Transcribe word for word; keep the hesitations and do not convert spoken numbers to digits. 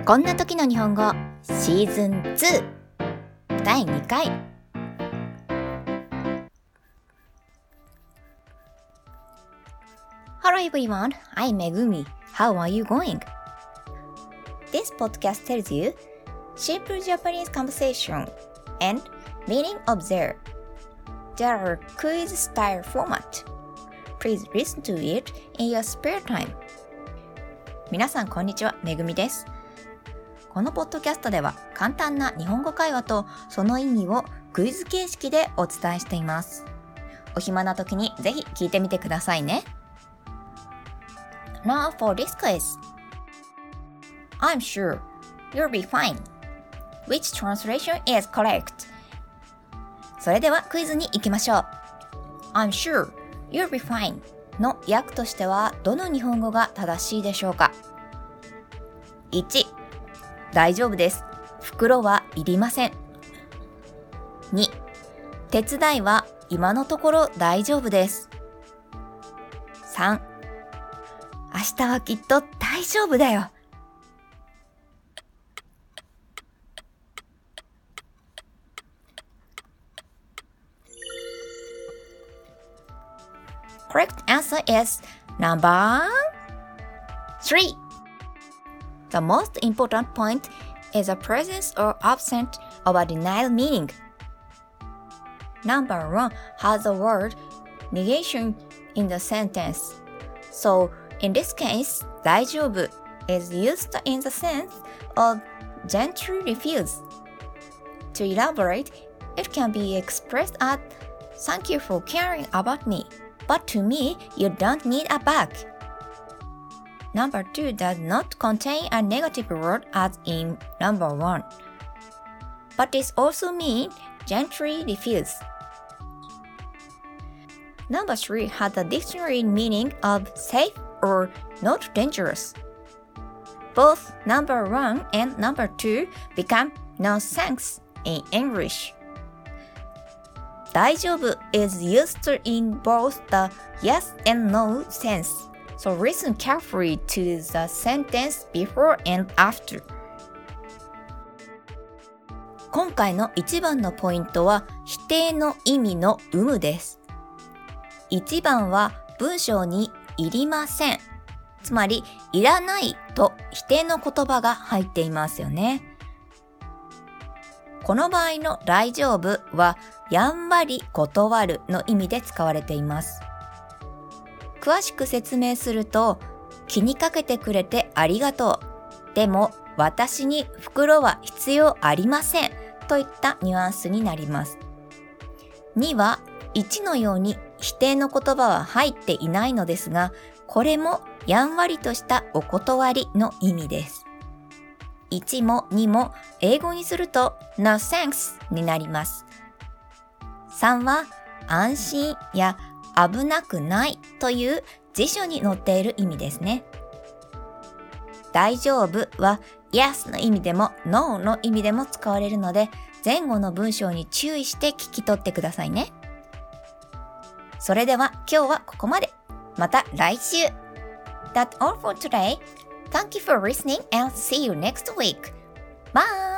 こんな時の日本語シーズンツーだいにかい。 Hello everyone, I'm Megumi. How are you going? This podcast tells you simple Japanese conversation and meaning of there. There are quiz style format. Please listen to it in your spare time. 皆さんこんにちは、めぐみです。このポッドキャストでは簡単な日本語会話とその意味をクイズ形式でお伝えしています。お暇な時にぜひ聞いてみてくださいね。Now for this quiz. I'm sure you'll be fine. Which translation is correct? それではクイズに行きましょう。I'm sure you'll be fine の訳としてはどの日本語が正しいでしょうか。いち、大丈夫です。袋はいりません。に、手伝いは今のところ大丈夫です。さん、明日はきっと大丈夫だよ。Correct answer is number three. The most important point is the presence or absence of a denial meaning. Number one has the word negation in the sentence. So, in this case, 大丈夫 is used in the sense of gently refuse. To elaborate, it can be expressed as thank you for caring about me.But to me, you don't need a bag. Number two does not contain a negative word as in number one. But this also means gently refuse. Number three has a dictionary meaning of safe or not dangerous. Both number one and number two become no thanks in English.大丈夫 is used in both the yes and no sense. So listen carefully to the sentence before and after. 今回の一番のポイントは否定の意味の有無です。一番は文章にいりません。つまりいらないと否定の言葉が入っていますよね。この場合の大丈夫はやんわり断るの意味で使われています。詳しく説明すると、気にかけてくれてありがとう。でも私に袋は必要ありませんといったニュアンスになります。にはいちのように否定の言葉は入っていないのですが、これもやんわりとしたお断りの意味です。いちもにも英語にすると No thanks になります。さんは安心や危なくないという辞書に載っている意味ですね。大丈夫は Yes の意味でも No の意味でも使われるので、前後の文章に注意して聞き取ってくださいね。それでは今日はここまで。また来週。That's all for today.Thank you for listening and see you next week. Bye!